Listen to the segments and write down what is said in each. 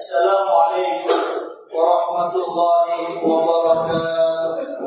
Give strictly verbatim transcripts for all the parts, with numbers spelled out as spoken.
Assalamualaikum warahmatullahi wabarakatuh.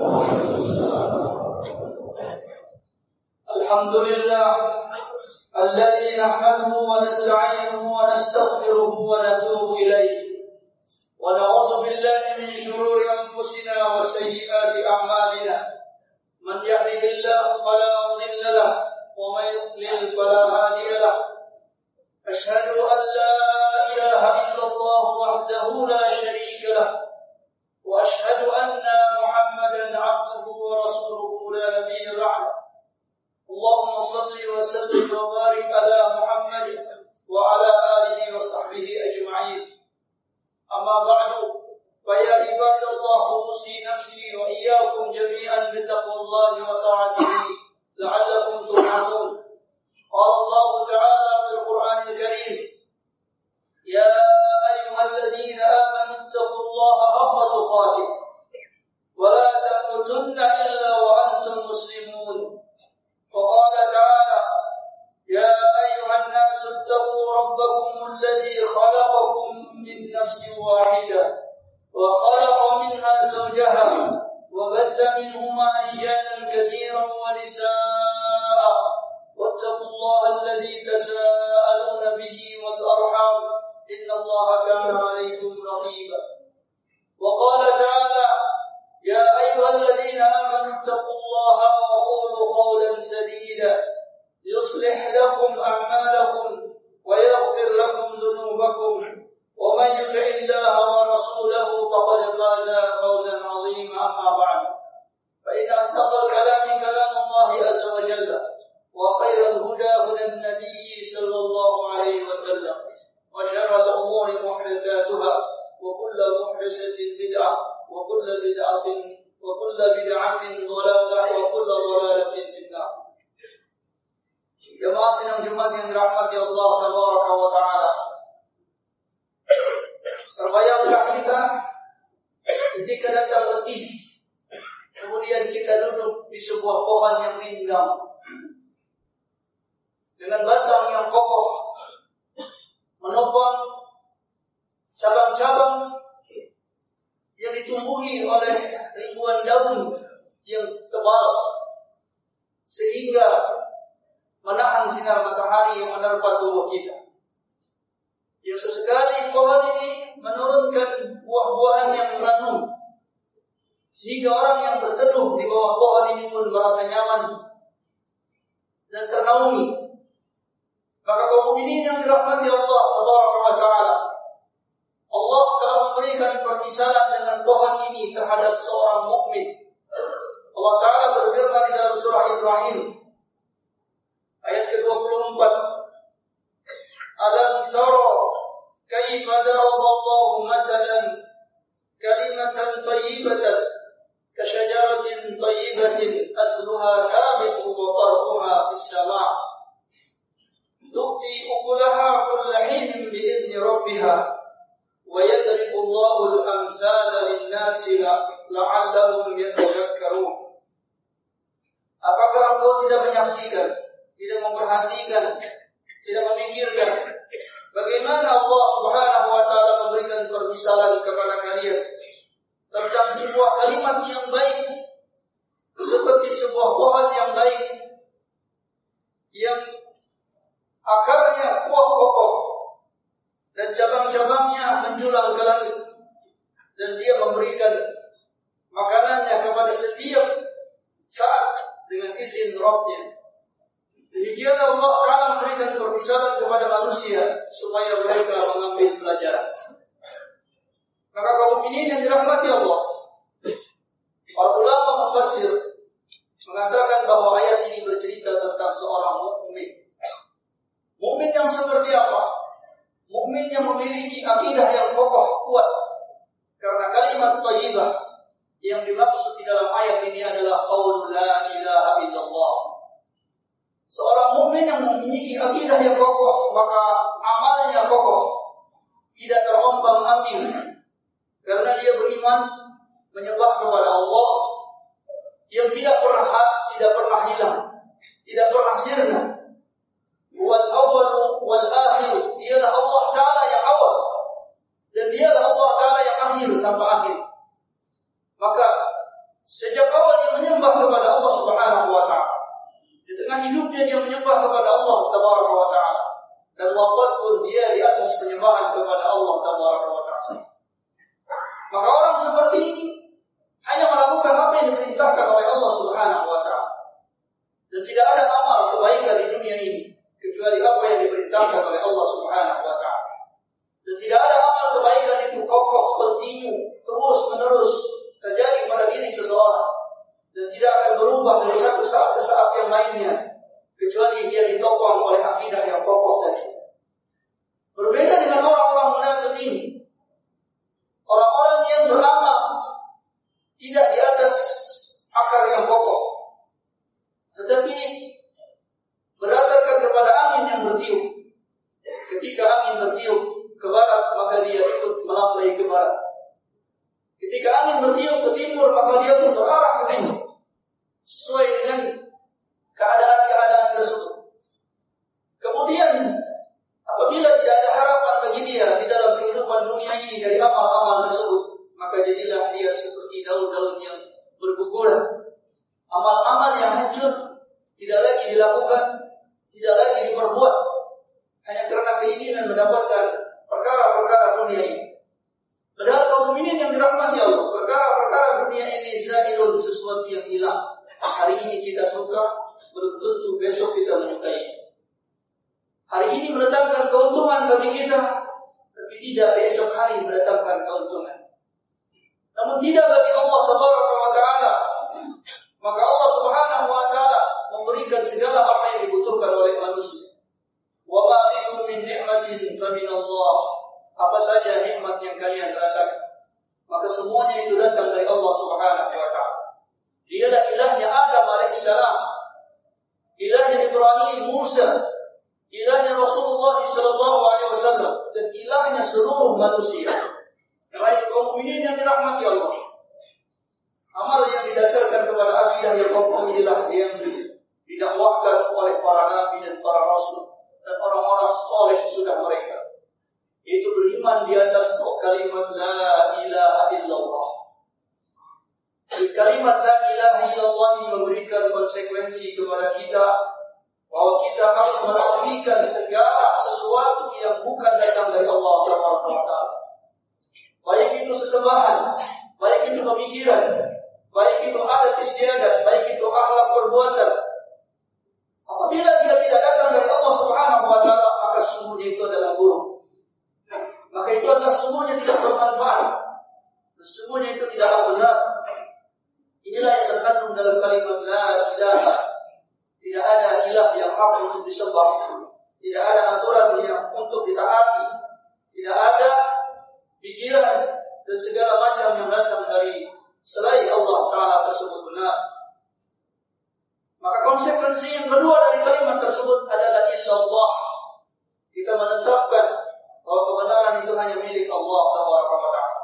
Alhamdulillah alladzi nahmaduhu wa nasta'inuhu wa nastaghfiruhu wa natubu ilayhi wa na'udzu billahi min shururi anfusina wa sayyiati a'malina. Man yahdihillahu fala mudilla lahu wa man yudlil fala hadiya lahu. Asyhadu an la ilaha illallah wahdahu la syarika lahu wa asyhadu anna Muhammadan 'abduhu wa rasuluhu la nabiyya ba'dahu. Allahumma shalli wa sallim wa barik ala Muhammad wa ala alihi wa sahbihi ajma'in. Amma ba'du, fa ya ibadallah, usi nafsi wa iyyakum jami'an bi taqwallahi wa ta'atihi la'allakum turhamun. Qala Allah ta'ala fil Qur'anil Karim, ya ayyuhalladzina amanu taqullaha haqqa tuqatih wa la tamutunna illa wa antum muslimun. وقال تعالى يا أيها الناس اتقوا ربكم الذي خلقكم من نفس واحدة وخلق منها زوجها وبث منهما رجالا كثيرا ونساء واتقوا الله الذي تساءلون به والأرحام إن الله كان عليكم رقيبا. وقال تعالى يا أيها الذين آمنوا اتقوا الله وقولوا قولا سديدا يصلح لكم أعمالكم ويغفر لكم ذنوبكم ومن يطع الله ورسوله فقد فاز فوزا عظيما. أما بعد، فإن أصدق الكلام كلام الله عز وجل وخير الهدى هدى النبي صلى الله عليه وسلم وشر الأمور محدثاتها وكل محدثة بدعة وكل بدعة وكل بدعة ضلالة وكل ضلالة في النار. Jemaah sidang Jumat yang dirahmati Allah Tabaraka wa Ta'ala, terbayangkah kita ketika datang letih, kemudian kita duduk di sebuah pohon yang rindang dengan batang yang kokoh menopang cabang-cabang yang ditumbuhi oleh ribuan daun yang tebal sehingga menahan sinar matahari yang menerpa tubuh kita. Yang sesekali pohon ini menurunkan buah-buahan yang ranum sehingga orang yang berteduh di bawah pohon ini pun merasa nyaman dan ternaungi. Maka kaum mukminin yang dirahmati Allah Tabaraka wa Ta'ala, Allah telah memberikan permisalan dengan pohon ini terhadap seorang mukmin. Allah Ta'ala berfirman di dalam surah Ibrahim ayat ke dua puluh empat, Alam tara kaifa daraba Allahu mathalan kalimatan thayyibatan kasyajaratin thayyibatin asluha thabitun wa far'uha fis sama' tu'ti ukulaha kulla hinin bi'izni rabbiha wa yadribu Allahu al-amsala lin-nasi la'allahum yatadhakkarun. Apakah engkau tidak menyaksikan, tidak memperhatikan, tidak memikirkan bagaimana Allah Subhanahu wa Ta'ala memberikan permisalan kepada kalian tentang sebuah kalimat yang baik seperti sebuah pohon yang baik yang akarnya kuat kokoh dan cabang-cabangnya menjulang ke langit, dan dia memberikan makanannya kepada setiap saat dengan izin Rabb-Nya. Demikian Allah Ta'ala memberikan permisalan kepada manusia supaya mereka mengambil pelajaran. Maka kaum mukminin yang dirahmati Allah, para ulama mufassir mengatakan bahwa ayat ini bercerita tentang seorang mukmin. Mukmin yang seperti apa? Mukmin yang memiliki akidah yang kokoh kuat. Karena kalimat thayyibah yang dimaksud di dalam ayat ini adalah qaulul la ilaha illallah. Seorang mukmin yang memiliki akidah yang kokoh, maka amalnya kokoh, tidak terombang-ambing, karena dia beriman menyembah kepada Allah yang tidak pernah tidak pernah hilang, tidak pernah sirna. Wal awwalu wal akhir, dialah Allah Ta'ala yang awal dan dia tanpa akhir. Maka sejak awal dia menyembah kepada Allah Subhanahu wa taala. Di tengah hidupnya dia menyembah kepada Allah Tabaraka wa taala. Dan wafat pun dia di atas penyembahan kepada Allah Tabaraka wa taala. Maka orang seperti ini hanya melakukan apa yang diperintahkan oleh Allah Subhanahu wa taala. Dan tidak ada amal kebaikan di dunia ini kecuali apa yang diperintahkan oleh Allah Subhanahu wa taala. Dan tidak ada amal kebaikan itu kokoh, kontinu, terus menerus terjadi pada diri seseorang dan tidak akan berubah dari satu saat ke saat yang lainnya kecuali dia ditopang oleh akidah yang kokoh tadi. Berbeda dengan orang-orang munafik ini. Orang-orang yang beramal tidak di atas akar yang kokoh, tetapi berdasarkan kepada angin yang bertiup. Ketika angin bertiup ke barat, maka dia ikut melambai ke barat. Ketika angin bertiup ke timur, maka dia pun berarah ke timur, sesuai dengan keadaan-keadaan tersebut. Kemudian apabila tidak ada harapan bagi dia di dalam kehidupan dunia ini dari amal-amal tersebut, maka jadilah dia seperti daun-daun yang berguguran. Amal-amal yang hancur tidak lagi dilakukan, tidak lagi diperbuat, hanya karena keinginan mendapatkan perkara-perkara dunia ini. Padahal kaum mukminin yang dirahmati Allah, perkara-perkara dunia ini zailun, sesuatu yang hilang. Hari ini kita suka, belum tentu besok kita menyukai. Hari ini mendatangkan keuntungan bagi kita, tapi tidak besok hari mendatangkan keuntungan. Namun tidak bagi Allah Tabaraka wa taala. Maka Allah Subhanahu wa taala memberikan segala apa yang dibutuhkan oleh manusia. Wa ma bikum min ni'matin fa min Allah. Apa saja nikmat yang kalian rasakan, maka semuanya itu datang dari Allah Subhanahu wa taala. Dialah ilahnya Adam alaihissalam, ilahnya Ibrahim, Musa, ilahnya Rasulullah sallallahu alaihi wasallam, dan ilahnya seluruh manusia. Baik kaum mukminin yang dirahmati Allah. Amal yang didasarkan kepada akidah yang kokoh inilah yang didakwahkan oleh para nabi dan para rasul dan orang-orang saleh sesudah mereka. Itu beriman di atas kalimat la ilaha illallah. Di kalimat la ilaha illallah ini memberikan konsekuensi kepada kita bahwa kita harus menafikan segala sesuatu yang bukan datang dari Allah Taala. Baik itu sesembahan, baik itu pemikiran, baik itu adat istiadat, baik itu akhlak perbuatan. Apabila dia tidak datang dari Allah Subhanahu wa taala, maka sesungguhnya itu adalah buruk. Maka itu adalah semuanya tidak bermanfaat. Semuanya itu tidaklah benar. Inilah yang terkandung dalam kalimat la ilaha. Tidak ada ilah yang hak untuk disembah. Tidak ada aturan yang untuk ditaati. Tidak ada pikiran dan segala macam yang datang dari selain Allah Ta'ala tersebut benar. Maka konsekuensi yang kedua dari kalimat tersebut adalah illallah. Kita menetapkan bahwa kebenaran itu hanya milik Allah Tabaraka wa taala.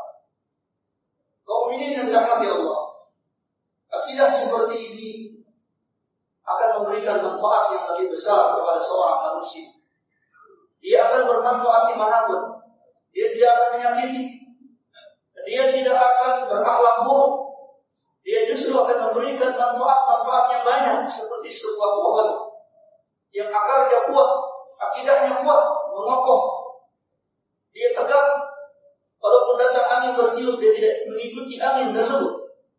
Kaum mukminin yang dirahmati Allah, akidah seperti ini akan memberikan manfaat yang lebih besar kepada seorang manusia. Dia akan bermanfaat dimanapun. Dia tidak akan menyakiti. Dia tidak akan berakhlak buruk. Dia justru akan memberikan manfaat-manfaat yang banyak, seperti sebuah pohon yang akarnya kuat, akidahnya kuat, mengokoh. Dia tegak, walaupun datang angin bertiup, dia tidak mengikuti angin tersebut.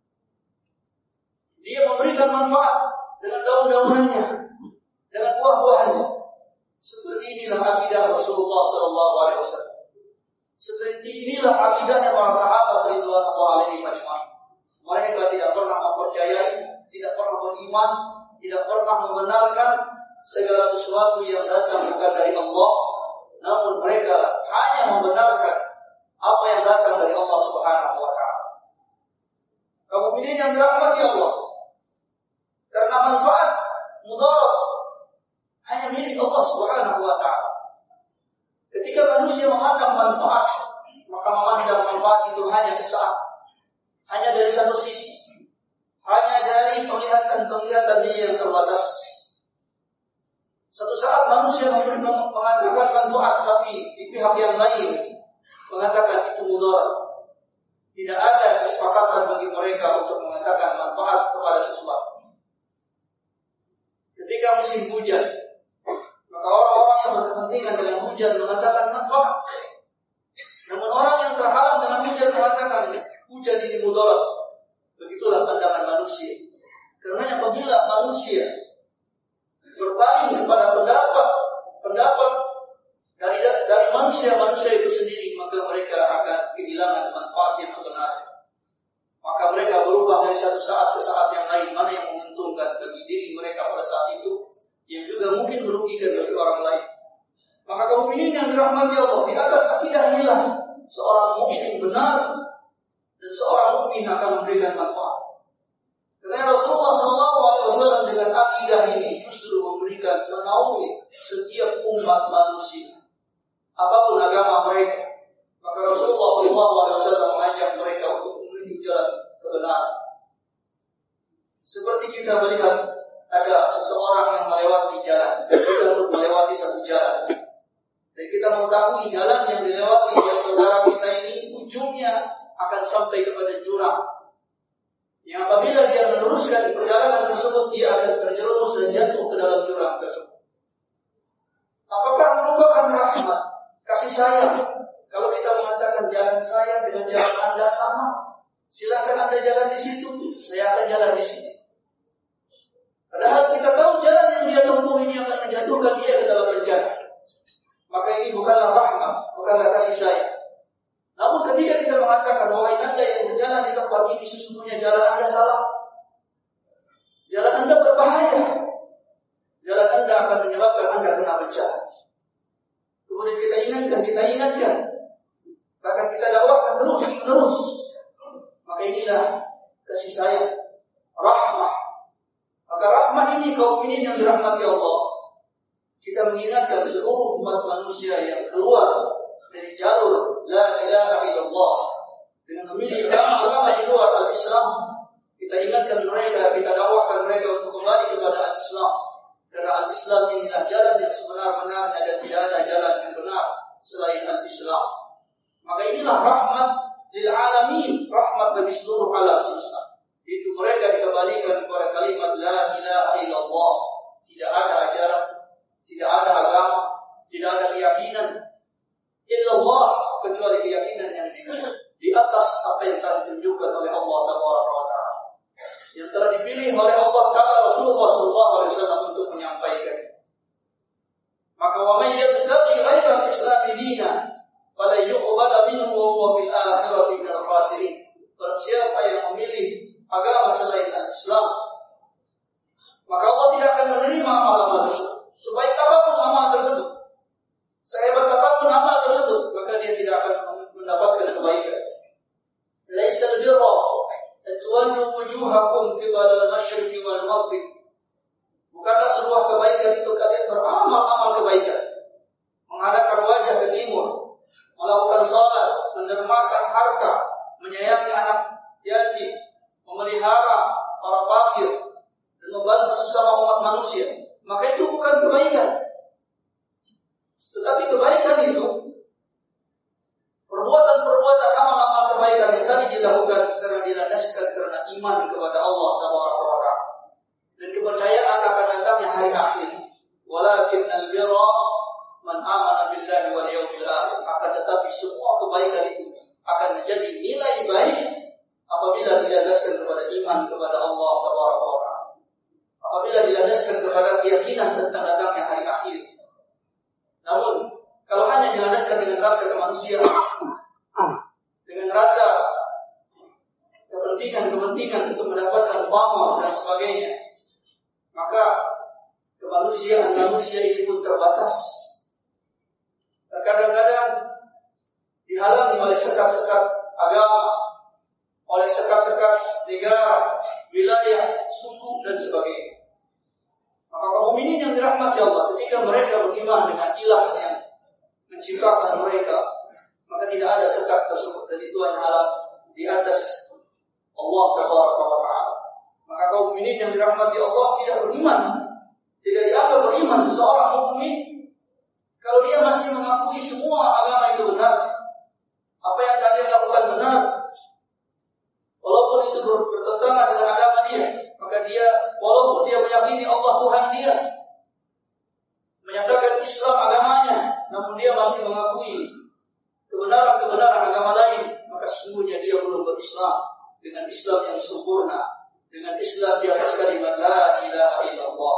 Dia memberikan manfaat dengan daun-daunannya, dengan buah-buahannya. Seperti inilah akidah Rasulullah sallallahu alaihi wasallam. Seperti inilah akidahnya para sahabat radhiyallahu alaihim ajma'in. Mereka tidak pernah mempercayai, tidak pernah beriman, tidak pernah membenarkan segala sesuatu yang datang bukan dari Allah. Namun mereka hanya membenarkan apa yang datang dari Allah Subhanahu wa taala. Kaum mukminin yang dirahmati Allah, karena manfaat mudarat hanya milik Allah Subhanahu wa taala. Ketika manusia memandang manfaat, maka memandang manfaat itu hanya sesaat, hanya dari satu sisi, hanya dari penglihatan-penglihatan dia yang terbatas. Satu saat manusia mengatakan manfaat, tapi di pihak yang lain mengatakan itu mudarat. tidak ada kesepakatan bagi mereka untuk mengatakan manfaat kepada sesuatu. Ketika musim hujan, maka orang-orang yang berkepentingan dengan hujan mengatakan manfaat. Namun orang yang terhalang dengan hujan mengatakan hujan ini mudarat. Begitulah pandangan manusia. Karena apabila manusia berpaling kepada pendapat pendapat dari dari manusia-manusia itu sendiri, maka mereka akan kehilangan manfaat yang sebenarnya. Maka mereka berubah dari satu saat ke saat yang lain, mana yang menguntungkan bagi diri mereka pada saat itu, yang juga mungkin merugikan bagi orang lain. Maka kaum mukminin yang dirahmati Allah, di atas akidah inilah seorang mukmin benar dan seorang mukmin akan memberikan manfaat. Karena Rasulullah shallallahu alaihi wasallam dengan akidah ini justru memberikan menaungi setiap umat manusia, apapun agama mereka. Maka Rasulullah shallallahu alaihi wasallam mengajak mereka untuk menuju jalan kebenaran. Seperti kita melihat ada seseorang yang melewati jalan, kita harus melewati satu jalan. Dan kita mengetahui jalan yang dilewati oleh saudara kita ini ujungnya akan sampai kepada jurang. Yang apabila dia meneruskan perjalanan tersebut, dia akan terjerumus dan jatuh ke dalam jurang tersebut. Apakah merupakan rahmat, kasih sayang? Kalau kita mengatakan jalan saya dengan jalan Anda sama, silakan Anda jalan di situ, saya akan jalan di sini. Padahal kita tahu jalan yang dia tempuh ini akan menjatuhkan dia ke dalam bencana. Maka ini bukanlah rahmat, bukanlah kasih sayang. Namun ketika kita mengatakan wahai Anda yang berjalan di tempat ini, sesungguhnya jalan Anda salah, jalan Anda berbahaya, jalan Anda akan menyebabkan Anda kena bencana. Kemudian kita ingatkan, kita ingatkan, bahkan kita dakwahkan terus terus. Maka inilah kasih sayang, rahmah. Maka rahmah ini kaum mukminin yang dirahmati Allah. Kita mengingatkan seluruh umat manusia yang keluar dari jalur la ilaha illallah dengan memilih agama di luar al-Islam. Kita ingatkan mereka, kita dakwahkan mereka untuk kembali kepada al-Islam. Karena al-Islam inilah jalan yang sebenar-benarnya dan tidak ada jalan yang benar selain al-Islam. Maka inilah rahmat lil alamin, rahmat bagi seluruh alam semesta. Itu mereka dikembalikan kepada kalimat la ilaha illallah. Tidak ada ajaran, tidak ada agama, tidak ada keyakinan illallah kecuali keyakinan yang di, di atas apa yang telah ditunjukkan oleh Allah Taala, yang telah dipilih oleh Allah Taala Rasulullah sallallahu alaihi wasallam untuk menyampaikan. Maka wa may yabtaghi ghayra al-islam dinan fala yuqbal minhu wa huwa fil akhirati minal khasirin. Barang siapa yang memilih agama selain al-Islam, maka Allah tidak akan menerima amal-amal tersebut. Sebaik apapun amal tersebut, sehebat apapun amal tersebut, maka dia tidak akan mendapatkan kebaikan. Laisa al-birra an tuwallu wujuhakum qibala al-masyriqi wal maghrib. Bukanlah sebuah kebaikan itu kalian beramal-amal kebaikan, menghadapkan wajah ke timur, melakukan salat, mendermakan harta, menyayangi anak yatim, memelihara para fakir, dan membantu sesama umat manusia. Maka itu bukan kebaikan. Tetapi kebaikan itu perbuatan-perbuatan amal-amal kebaikan yang tadi dilakukan karena dilandaskan karena iman kepada Allah Taala dan kepercayaan akan datangnya hari akhir. Walakin al-birra man amana billahi wal yawmil akhir. Akan tetapi semua kebaikan itu akan menjadi nilai baik apabila dilandaskan kepada iman kepada Allah Taala. Apabila dilandaskan kepada keyakinan tentang datangnya hari akhir. Namun, kalau hanya dilandaskan dengan rasa kemanusiaan, dengan rasa kepentingan-kepentingan untuk mendapatkan pamor dan sebagainya, maka kemanusiaan manusia ini pun terbatas. Terkadang-kadang dihalangi oleh sekat-sekat agama, oleh sekat-sekat negara, wilayah, suku dan sebagainya. Maka kaum mukminin yang dirahmati Allah, ketika mereka beriman dengan ilah yang menciptakan mereka, maka tidak ada sekat tersebut dan itu hanyalah di atas Allah Taala. Maka kaum mukminin yang dirahmati Allah tidak beriman, tidak dianggap beriman seseorang mukmin kalau dia masih mengakui semua agama itu benar, apa yang kalian lakukan benar, mengakui kebenaran-kebenaran agama lain, maka sesungguhnya dia belum berislam dengan Islam yang sempurna, dengan Islam di atas kalimat la ilaha illallah.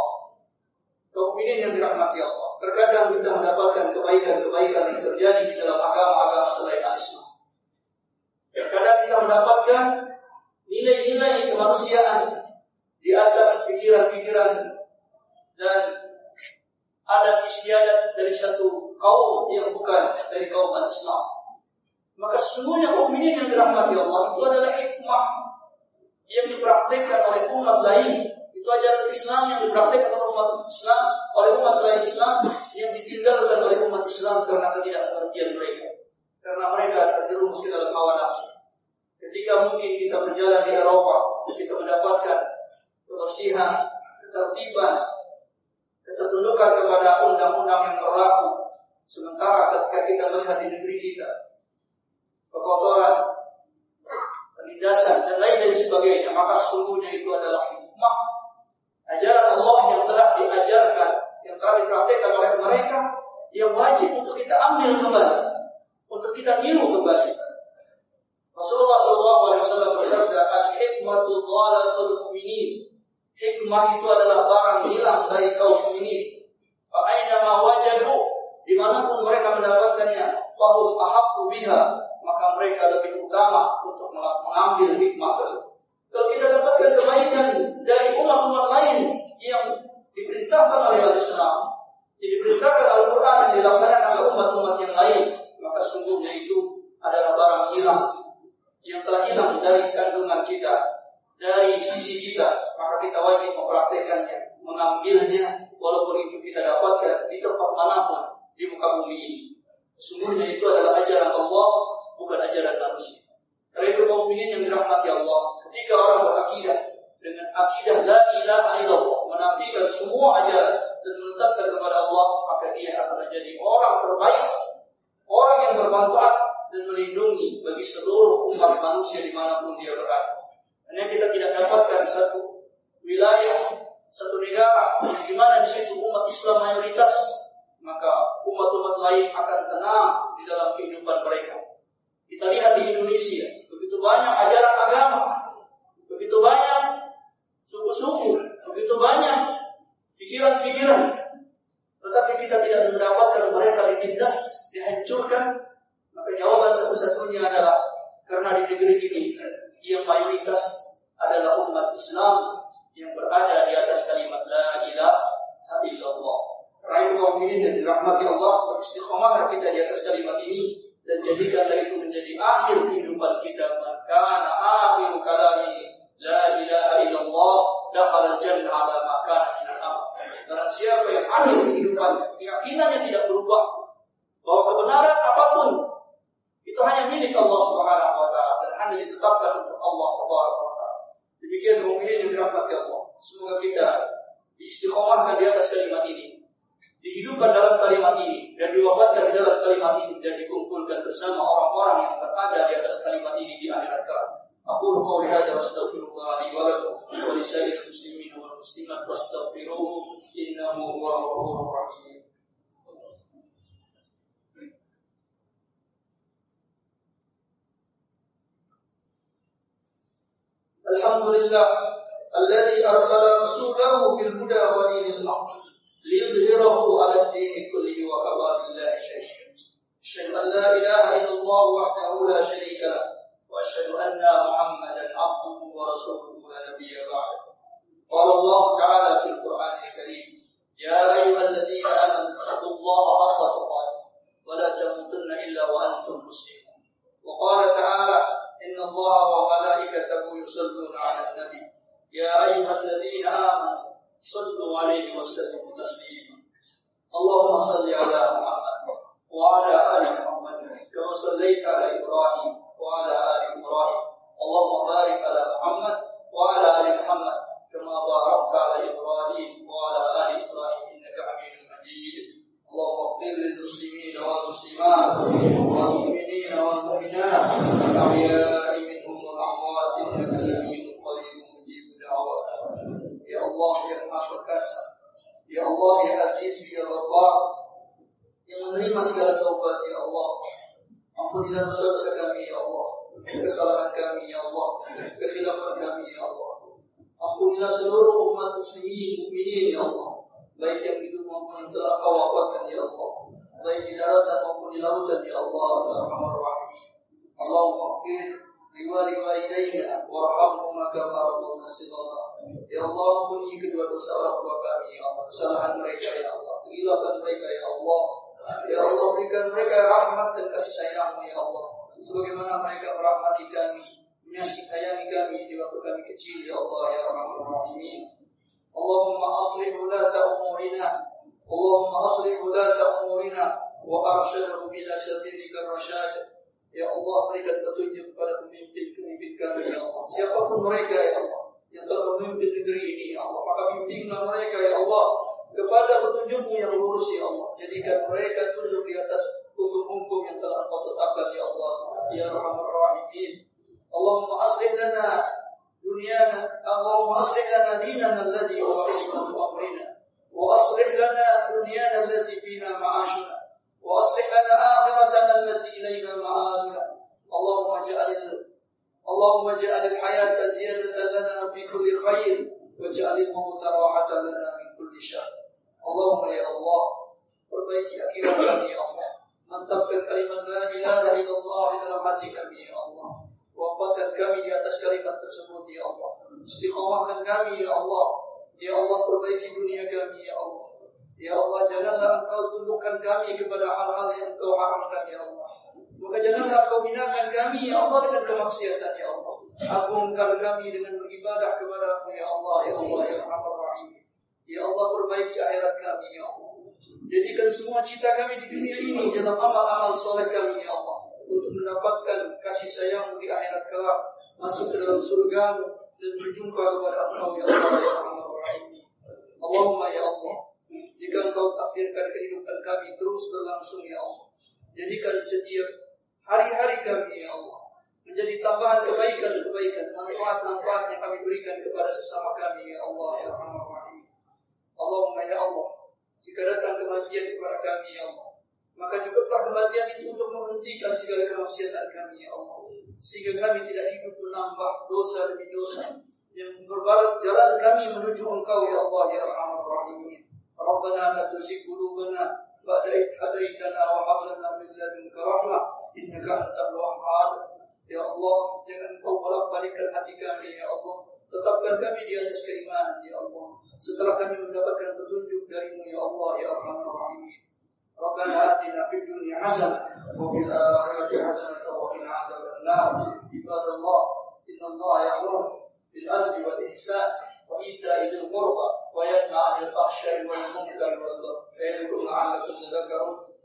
Kaum mukminin yang dirahmati Allah, terkadang kita mendapatkan kebaikan-kebaikan yang terjadi di dalam agama-agama selain Islam. Terkadang kita mendapatkan nilai-nilai kemanusiaan di atas pikiran-pikiran dan adat istiadat dari satu kaum yang bukan dari kaum Islam. Maka sesungguhnya kaum mukminin yang dirahmati Allah itu adalah hikmah yang dipraktikkan oleh umat lain. Itu ajaran Islam yang dipraktikkan oleh umat Islam, oleh umat selain Islam, yang ditinggalkan oleh umat Islam karena ketidakmengertian mereka, karena mereka terjerumus ke dalam hawa nafsu. Ketika mungkin kita berjalan di Eropa, kita mendapatkan kebersihan, ketertiban, ketertundukan kepada undang-undang yang berlaku. Sementara ketika kita melihat di negeri kita, kekotoran, penindasan, dan lain dan sebagainya, maka sesungguhnya itu adalah hikmah ajaran Allah yang telah diajarkan, yang telah dipraktikkan oleh mereka, yang wajib untuk kita ambil kembali, untuk kita niru kembali. Rasulullah shallallahu alaihi wasallam bersabda, al-hikmatu dhalatul mu'minin. Hikmah itu adalah barang hilang dari kaum mukminin. Fa aina ma wajadu, dimanapun mereka mendapatkannya, fahum ahaqqu biha, maka mereka lebih utama untuk mengambil hikmah tersebut. Kalau kita dapatkan kebaikan dari umat-umat lain yang diperintahkan oleh Al-Islam, yang diperintahkan Al-Quran, yang dilaksanakan oleh umat-umat yang lain, maka sungguhnya itu adalah barang hilang yang telah hilang dari kandungan kita, dari sisi kita, maka kita wajib mempraktekannya, mengambilnya, walaupun itu kita dapatkan di tempat manapun di muka bumi ini. Sungguhnya itu adalah ajaran Allah, bukan ajaran manusia. Karena itu kaum mukminin yang dirahmati Allah, ketika orang berakidah dengan akidah la ilaha illallah, menafikan semua ajaran dan menetapkan kepada Allah, maka dia akan menjadi orang terbaik, orang yang bermanfaat dan melindungi bagi seluruh umat manusia dimanapun dia berada. Karena kita tidak dapatkan satu wilayah, satu negara yang dimana di situ umat Islam mayoritas, maka umat-umat lain akan tenang di dalam kehidupan mereka. Kita lihat di Indonesia, begitu banyak ajaran agama, begitu banyak suku-suku, begitu banyak pikiran-pikiran, tetapi kita tidak mendapatkan mereka ditindas, dihancurkan. Maka jawaban satu-satunya adalah karena di negeri ini yang mayoritas adalah umat Islam yang berada di atas kalimat la ilaha illallah. Karena itu kaum mukminin yang dirahmati Allah, beristiqomahlah kita di atas kalimat ini dan jadikanlah itu menjadi akhir kehidupan kita. Maka akhir kalami la ilaha illallah dakhala al-jannah ala ma kana min al-amal. Barang siapa yang akhir kehidupannya keyakinannya tidak berubah bahwa kebenaran apapun itu hanya milik Allah Subhanahu wa taala dan hanya ditetapkan untuk Allah Subhanahu wa taala. Demikian mukminin yang dirahmati Allah. Semoga kita diistiqomahkan di atas kalimat ini, dihidupkan dalam kalimat ini, dan diwafatkan di dalam kalimat ini, dan dikumpulkan bersama orang-orang yang berada di atas kalimat ini di akhirat kelak. Aqulu qawli hadza wa astaghfirullah li wa lakum wa li sa'iril muslimin wal muslimat wastaghfiruhu innahu huwal ghafurur rahim. Alhamdulillah alladzi arsala rasulahu bil huda wa dinil haqq liyudhhirahu 'ala ad-din kullihi wa kafa billahi shahida. Asyhadu an la ilaha illallah wahdahu la syarika lah wa asyhadu anna Muhammadan 'abduhu wa rasuluhu la nabiyya ba'dahu. Qala Allah ta'ala fil Qur'anil Karim, ya ayyuhalladzina amanu taqullaha haqqa tuqatih wa la tamutunna illa wa antum muslimun. Wa qala ta'ala إن الله وملائكته يصلون على النبي يا أيها الذين آمنوا صلوا عليه وسلموا تسليما. اللهم صل على محمد وعلى آل محمد كما صليت على إبراهيم وعلى آل إبراهيم. اللهم بارك على محمد وعلى آل محمد كما باركت على إبراهيم وعلى آل إبراهيم إنك حميد مجيد. اللهم اغفر للمسلمين والمسلمات والمؤمنين والمؤمنات الأحياء منهم والأموات إنك سميع قريب مجيب الدعوات. يا الله يا Maha Perkasa, ya Allah ya Aziz ya Rabbah, yang menerima segala taubat, ya Allah Ampunilah dosa-dosa kami ya Allah, kesalahan kami ya Allah, kekhilafan kami ya Allah. Ampunilah seluruh umat muslimin, mukminin ya Allah, baik yang hidup maupun yang telah Kau wafatkan ya Allah, baik di daratan maupun di lautan ya Allah ya Arhamar Rahimin. Allahumma ighfir liwalidayna warhamhuma kama rabbayana shighara. Ya Allah, ampuni kedua dosa orang tua kami ya Allah, kesalahan mereka ya Allah, kekhilafan mereka ya Allah. Ya Allah, berikan mereka rahmat dan kasih sayang-Mu ya Allah, sebagaimana mereka merahmati kami, menyayangi kami di waktu kami kecil ya Allah ya Arhamar Rahimin. Allahumma aslih ulata umurina, Allahumma aslih ulata umurina wa arsyadhum ila sabilika rasyad. Ya Allah, berikan petunjuk kepada pemimpin-pemimpin kami ya Allah, siapapun mereka ya Allah yang telah memimpin negeri ini ya Allah, maka bimbinglah mereka ya Allah kepada petunjuk-Mu yang lurus ya Allah. Jadikan mereka tunduk di atas hukum-hukum yang telah Engkau tetapkan ya Allah ya Arhamar Rahimin. Allahumma aslih lana dunyana, Allahumma aslih lana dinana alladhi huwa ismatu amrina, wa aslih lana dunyana allati fiha ma'ashuna, wa aslih lana akhiratana allati ilayha ma'aduna. Allahumma ja'alil Allahumma ja'alil hayata ziyadatan lana fi kulli khair, wa ja'alil mauta rahatan lana min kulli syarr. Allahumma ya Allah, perbaiki akhirat kami ya Allah, mantapkan kalimat la ilaha illallah di dalam hati kami ya Allah, wafatkan kami di atas kalimat tersebut ya Allah, istiqamahkan kami ya Allah. Ya Allah, perbaiki dunia kami ya Allah. Ya Allah, janganlah Engkau tundukkan kami kepada hal-hal yang Engkau haramkan ya Allah, maka janganlah Engkau binakan kami ya Allah dengan kemaksiatan ya Allah. Agungkan kami dengan beribadah kepada-Mu ya Allah ya Allah ya Arhamar Rahimin. Ya Allah, perbaiki akhirat kami ya Allah. Jadikan semua cita kami di dunia ini dalam amal-amal soleh kami ya Allah, untuk mendapatkan kasih sayang-Mu di akhirat kelak, masuk ke dalam surga-Mu dan berjumpa kepada Engkau ya Allah ya Arhamar Rahimin. Allahumma ya Allah, jika Engkau takdirkan kehidupan kami terus berlangsung ya Allah, jadikan setiap hari-hari kami ya Allah menjadi tambahan kebaikan-kebaikan, manfaat-manfaat yang kami berikan kepada sesama kami ya Allah ya Arhamar Rahimin. Allahumma ya Allah, jika datang kematian kepada kami ya Allah, maka cukuplah kematian itu untuk menghentikan segala kemaksiatan kami ya Allah, sehingga kami tidak hidup menambah dosa demi dosa yang berbalat jalan kami menuju Engkau ya Allah ya Arhamar Rahimin. Rabbana la tuzigh qulubana ba'da idh hadaitana wa hab lana min ladunka rahmah innaka antal wahhab. Ya Allah, jangan Engkau bolak-balikkan hati kami ya Allah, tetapkan kami di atas keimanan ya Allah, setelah kami mendapatkan petunjuk dari-Mu ya Allah ya Arhamar Rahimin. Rabbana atina fid dunya hasanah wa fil akhirati hasanah wa qina adzabannar. Ibadallah, innallaha ya'muru bil 'adli wal ihsan wa ita'i dzil qurba wa yanha 'anil fahsya'i wal munkari wal baghi. Fa ya'idukum la'allakum tadhakkarun.